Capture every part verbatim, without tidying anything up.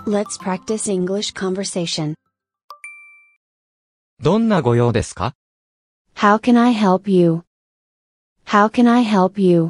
Let's practice English conversation. どんなご用ですか？ How can I help you? How can I help you?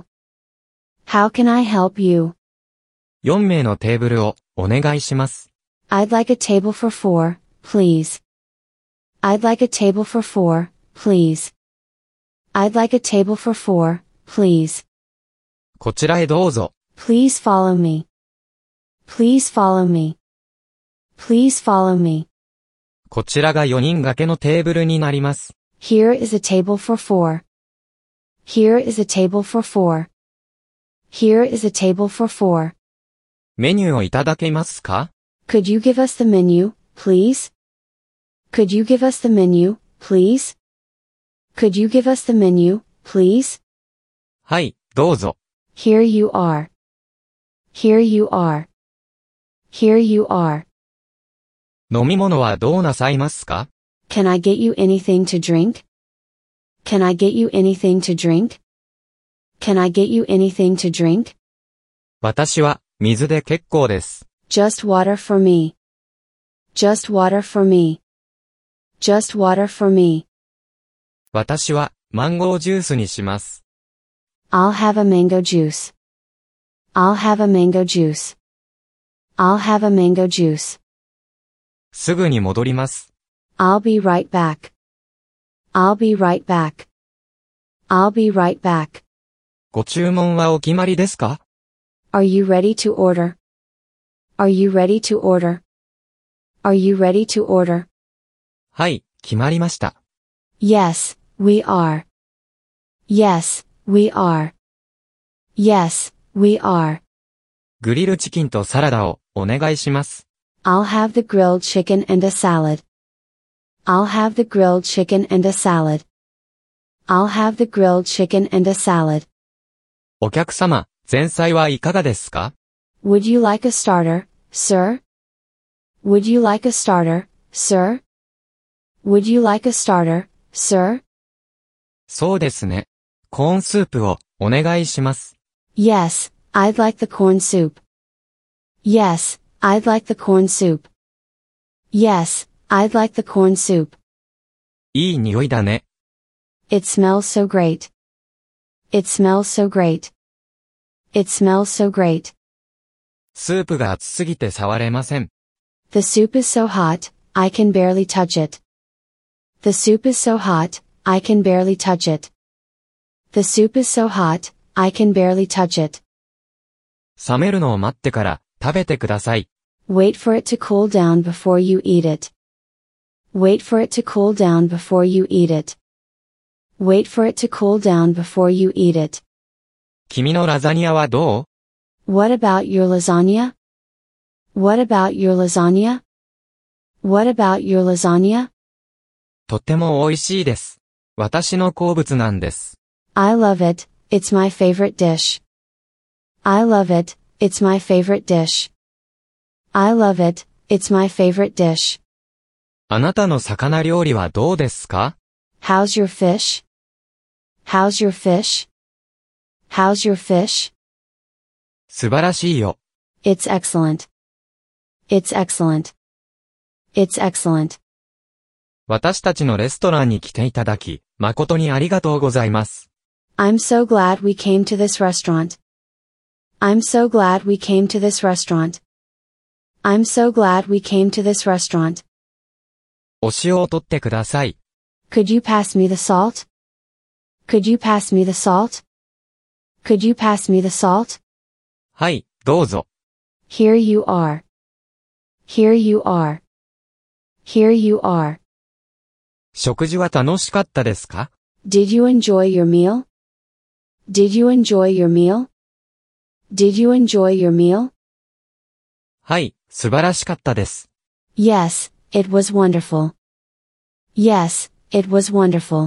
How can I help you? よんめいのテーブルをお願いします。 I'd like a table for four, please. I'd like a table for four, please. I'd like a table for four, please. こちらへどうぞ。 Please follow me. Please follow me. Please follow me. こちらがよにん掛けのテーブルになります。 Here is a table for four. Here is a table for four. Here is a table for four. メニューをいただけますか？ Could you give us the menu, please? Could you give us the menu, please? Could you give us the menu, please? はい、どうぞ。 Here you are. Here you are. Here you are. 飲み物はどうなさいますか？ Can I get you anything to drink? Can I get you anything to drink? Can I get you anything to drink? 私は水で結構です。 Just water for me. Just water for me. Just water for me. 私はマンゴージュースにします。 I'll have a mango juice. I'll have a mango juice. I'll have a mango juice. すぐに戻ります。 I'll be right back. I'll be right back. I'll be right back. ご注文はお決まりですか？ Are you ready to order? Are you ready to order? Are you ready to order? はい、決まりました。 Yes, we are. Yes, we are. Yes, we are. グリルチキンとサラダをお願いします。 I'll have the grilled chicken and a salad. I'll have the grilled chicken and a salad. I'll have the grilled chicken and a salad. お客様、前菜はいかがですか？ Would you like a starter, sir? Would you like a starter, sir? Would you like a starter, sir? そうですね。コーンスープをお願いします。 Yes, I'd like the corn soup. Yes, I'd like the corn soup. Yes, I'd like the corn soup. いい匂いだね。 It smells so great. It smells so great. It smells so great. スープが熱すぎて触れません。 The soup is so hot, I can barely touch it. The soup is so hot, I can barely touch it. The soup is so hot, I can barely touch it. 冷めるのを待ってから食べてください。 Wait for it to cool down before you eat it. Wait for it to cool down before you eat it. Wait for it to cool down before you eat it. 君のラザニアはどう？ What about your lasagna? What about your lasagna? What about your lasagna? とっても美味しいです。私の好物なんです。 I love it, it's my favorite dish. I love it, it's my favorite dish. I love it, it's my favorite dish. あなたの魚料理はどうですか？ How's your fish? How's your fish? How's your fish? 素晴らしいよ。 It's excellent. It's excellent. It's excellent. 私たちのレストランに来ていただき、誠にありがとうございます。 I'm so glad we came to this restaurant. I'm so glad we came to this restaurant. I'm so glad we came to this restaurant. お塩を取ってください。 Could you pass me the salt? Could you pass me the salt? Could you pass me the salt? はい、どうぞ。 Here you are. Here you are. Here you are. 食事は楽しかったですか？ Did you enjoy your meal? Did you enjoy your meal? Did you enjoy your meal? はい、素晴らしかったです。 Yes, it was wonderful. Yes, it was wonderful.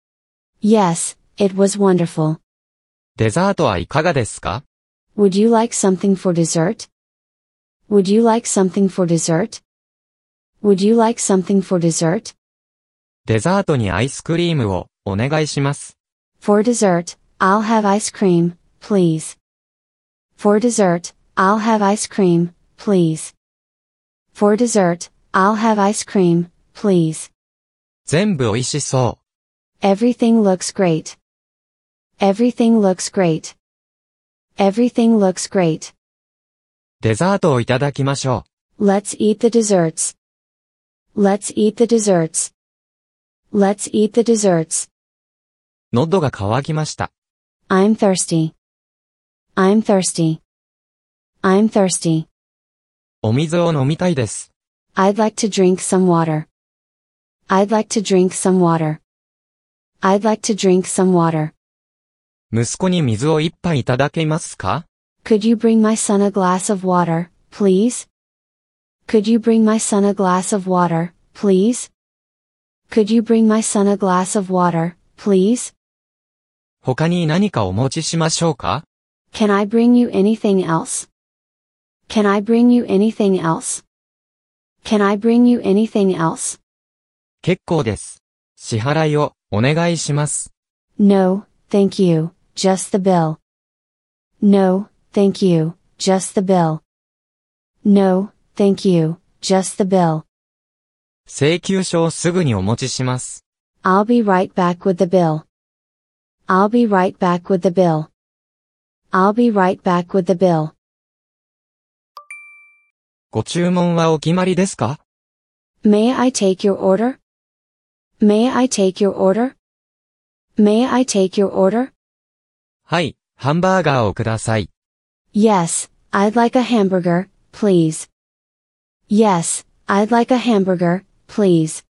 Yes, it was wonderful. デザートはいかがですか？ Would you like something for dessert? Would you like something for dessert? Would you like something for dessert? デザートにアイスクリームをお願いします。 For dessert, I'll have ice cream, please. For dessert, I'll have ice cream, please. For dessert, I'll have ice cream, please. 全部美味しそ Everything looks great. Everything looks great. Everything looks great. う。デザートをいただきましょ Let's eat the desserts. Let's eat the desserts. Let's eat the desserts. う。喉が渇きました。 I'm thirsty. I'm thirsty. I'm thirsty. お水を飲みたいです。 I'd like to drink some water. I'd like to drink some water. I'd like to drink some water. 息子に水を一杯いただけますか Could you bring my son a glass of water, please? Could you bring my son a glass of water, please? Could you bring my son a glass of water, please? 他に何かお持ちしましょうか Can I bring you anything else? Can I bring you anything else? Can I bring you anything else? 結構です。支払いをお願いします。 No, thank you, just the bill. No, thank you, just the bill. No, thank you, just the bill. 請求書をすぐにお持ちします。 I'll be right back with the bill. I'll be right back with the bill. I'll be right back with the bill. ご注文はお決まりですか May I take your order? May I take your order? May I take your order? はい、ハンバーガーをください。 Yes, I'd like a hamburger, please. Yes, I'd like a hamburger, please.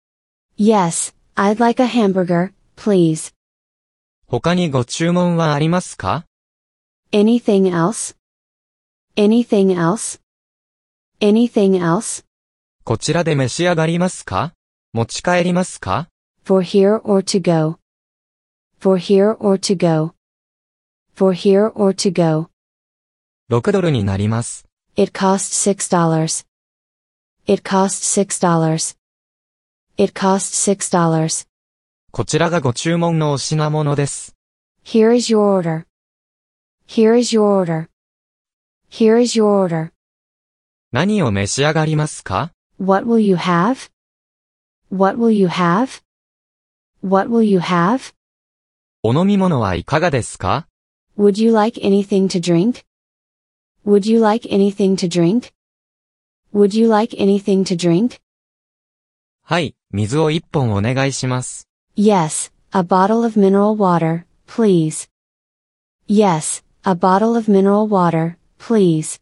Yes, I'd like a hamburger, please. 他にご注文はありますか Anything else? Anything else? Anything else? こちらで召し上がりますか持ち帰りますか For here or to go? For here or to go? For here or to go? ろくドルになります。 It costs six dollars. It costs six dollars. It costs six dollars. こちらがご注文のお品物です。 Here is your order. Here is your order. Here is your order. 何を召し上がりますか What will you have? What will you have? What will you have? お飲み物はいかがですか Would you like anything to drink? Would you like anything to drink? Would you like anything to drink? はい、水を一本お願いします。 Yes, a bottle of mineral water, please. Yes, a bottle of mineral water, please.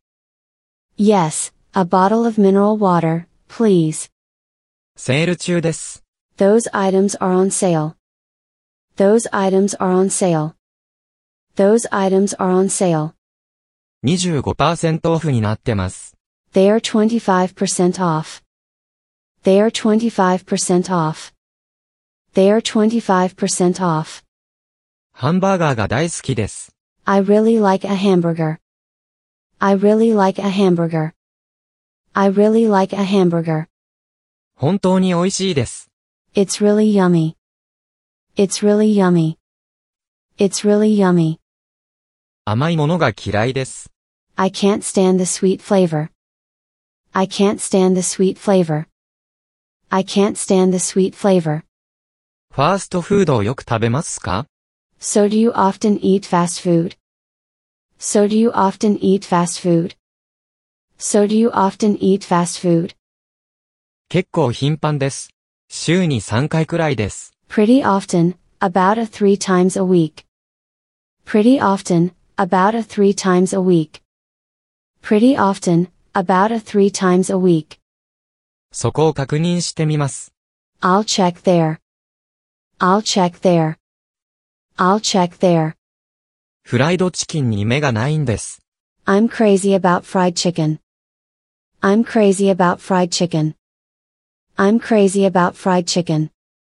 Yes, a bottle of mineral water, please. セール中です。 Those items are on sale. Those items are on sale. Those items are on sale. にじゅうごパーセント オフになってます。 They are twenty-five percent off. They are twenty-five percent off. They are twenty-five percent off. ハンバーガーが大好きです。 I really like a hamburger. I really like a hamburger. I really like a hamburger. 本当に美味しいです。 It's really yummy. It's really yummy. It's really yummy. 甘いものが嫌いです。 I can't stand the sweet flavor. I can't stand the sweet flavor. I can't stand the sweet flavor. ファーストフードをよく食べますか So do you often eat fast food? So do you often eat fast food? So do you often eat fast food? 結構頻繁です。週にさんかいくらいです。 Pretty often, about a three times a week. Pretty often, about a three times a week. Pretty often, about a three times a week. そこを確認してみます。 I'll check there. I'll check there. I'll check there. フライドチキンに目がないんです。 I'm crazy about fried chicken. I'm crazy about fried chicken. I'm crazy about fried chicken.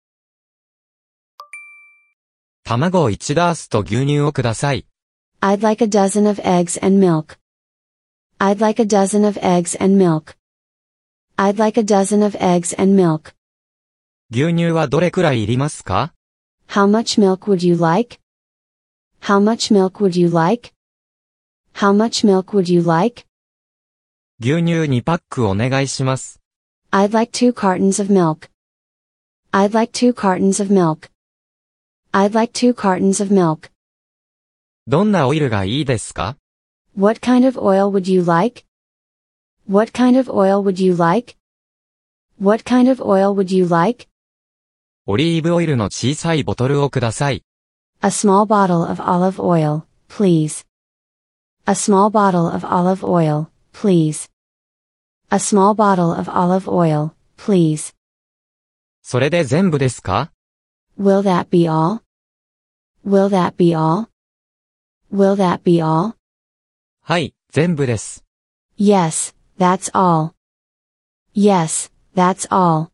卵をいちダースと牛乳をください。 I'd like a dozen of eggs and milk. I'd like a dozen of eggs and milk. I'd like a dozen of eggs and milk. 牛乳はどれくらいいりますか How much milk would you like? How much milk would you like? How much milk would you like? 牛乳にパックお願いします。 I'd like two cartons of milk. I'd like two cartons of milk. I'd like two cartons of milk. どんなオイルがいいですか？ What kind of oil would you like? What kind of oil would you like? What kind of oil would you like? オリーブオイルの小さいボトルをください。 A small bottle of olive oil, please. A small bottle of olive oil, please. A small bottle of olive oil, please. それで全部ですか？ Will that be all? Will that be all? Will that be all? はい、全部です。 Yes, that's all. Yes, that's all.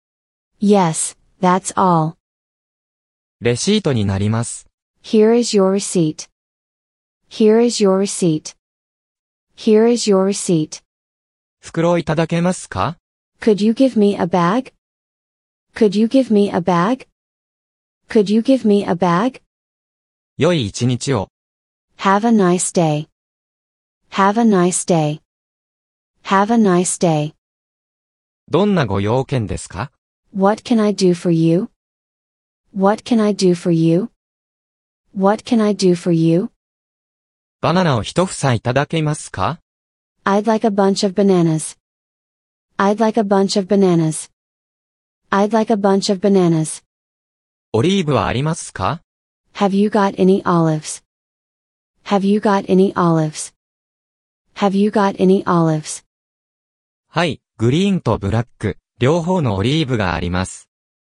Yes, that's all. レシートになります。 Here is your receipt. Here is your receipt. Here is your receipt. 袋いただけますか？ Could you give me a bag? Could you give me a bag? Could you give me a bag? 良い一日を。 Have a nice day. Have a nice day. Have a nice day. どんなご用件ですか？ What can I do for you? What can I do for you? What can I do for you? バナナを一房いただけますか？ I'd like a bunch of bananas. I'd like a bunch of bananas. I'd like a bunch of bananas. オリーブはありますか？ Have you got any olives? Have you got any olives? Have you got any olives? はい、グリーンとブラック、両方のオリーブがあります。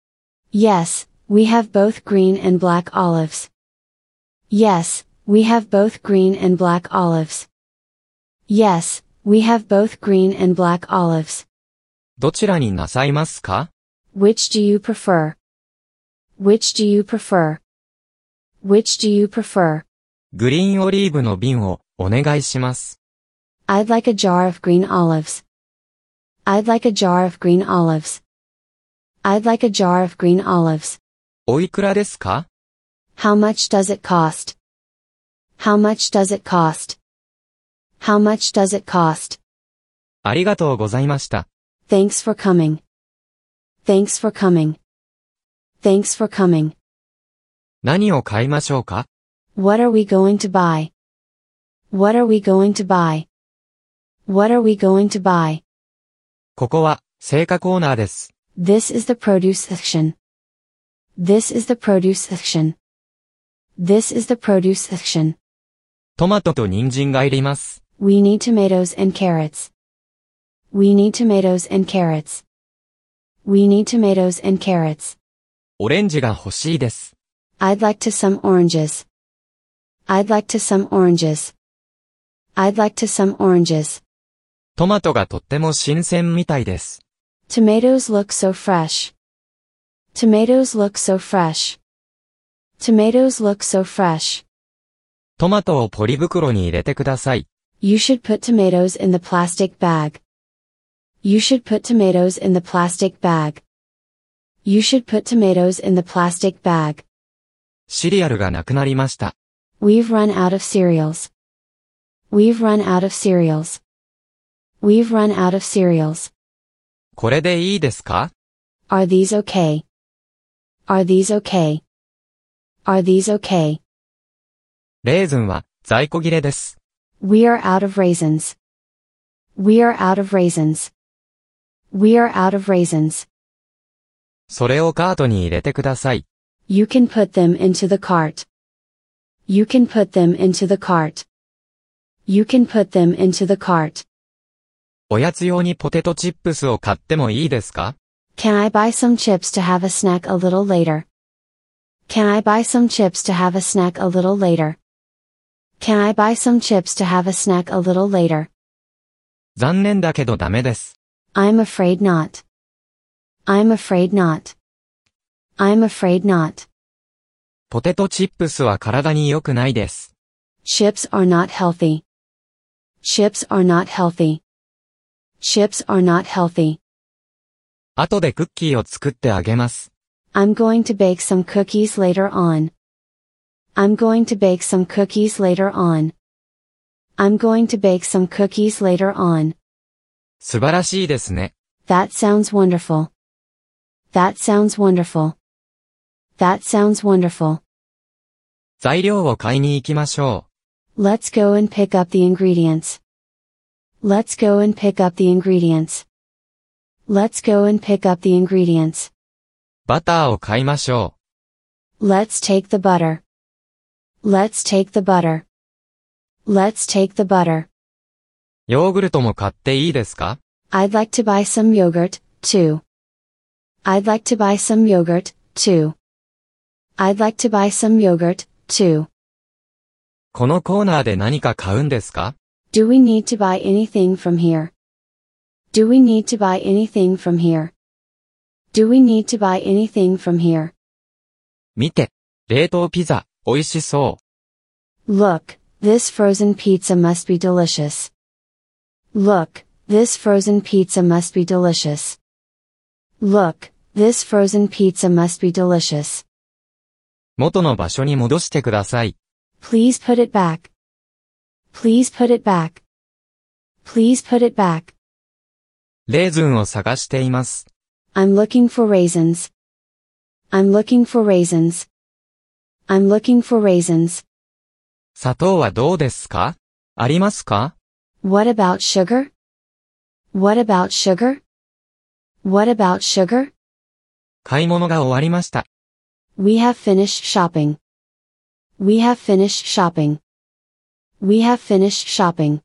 Yes, we have both green and black olives. Yes, we have both green and black olives. Yes, we have both green and black olives. どちらになさいますか？ Which do you prefer? Which do you prefer? Which do you prefer? グリーンオリーブの瓶をお願いします。 I'd like a jar of green olives. I'd like a jar of green olives. I'd like a jar of green olives. おいくらですか？ How much does it cost? How much does it cost? How much does it cost? ありがとうございました。 Thanks for coming. Thanks for coming. Thanks for coming. 何を買いましょうか？ What are we going to buy? What are we going to buy? What are we going to buy? ここは、青果コーナーです。 This is the produce section. This is the produce section. This is the produce section. トマトと人参がいります。 We need tomatoes and carrots. We need tomatoes and carrots. We need tomatoes and carrots. オレンジが欲しいです。 I'd like to some oranges. I'd like to some oranges. I'd like to some oranges. トマトがとっても新鮮みたいです。 Tomatoes look so fresh. Tomatoes look so fresh. Tomatoes look so fresh. トマトをポリ袋に入れてください。 You should put tomatoes in the plastic bag. You should put tomatoes in the plastic bag. You should put tomatoes in the plastic bag. シリアルがなくなりました。 We've run out of cereals. We've run out of cereals. We've run out of cereals. これでいいですか？ Are these okay? Are these okay? Are these okay? レーズンは在庫切れです。 We are out of raisins. We are out of raisins. We are out of raisins. それをカートに入れてください。 You can put them into the cart. You can put them into the cart. You can put them into the cart. おやつ用にポテトチップスを買ってもいいですか？ Can I buy some chips to have a snack a little later? Can I buy some chips to have a snack a little later? Can I buy some chips to have a snack a little later? 残念だけどダメです。 I'm afraid not. I'm afraid not. I'm afraid not. ポテトチップスは体に良くないです。 Chips are not healthy. Chips are not healthy. Chips are not healthy. 後でクッキーを作ってあげます。 I'm going to bake some cookies later on. I'm going to bake some cookies later on. I'm going to bake some cookies later on. 素晴らしいですね。 That sounds wonderful. That sounds wonderful. That sounds wonderful. 材料を買いに行きましょ Let's go and pick up the ingredients. Let's go and pick up the ingredients. Let's go and pick up the ingredients. う。バターを買いましょ Let's take the butter. Let's take the butter. Let's take the butter. う。ヨーグルトも買っていいですか？ I'd like to buy some yogurt, too. I'd like to buy some yogurt, too. I'd like to buy some yogurt, too. このコーナーで何か買うんですか？ Do we need to buy anything from here? Do we need to buy anything from here? Do we need to buy anything from here? 見て。冷凍ピザ、美味しそう。 Look, this frozen pizza must be delicious. Look, this frozen pizza must be delicious. Look, this frozen pizza must be delicious. 元の場所に戻してください。 Please put it back. Please put it back. Please put it back. レーズンを探しています。 I'm looking for raisins. I'm looking for raisins. I'm looking for raisins. 砂糖はどうですか？ありますか？ What about sugar? What about sugar? What about sugar? 買い物が終わりました。 We have finished shopping. We have finished shopping. We have finished shopping.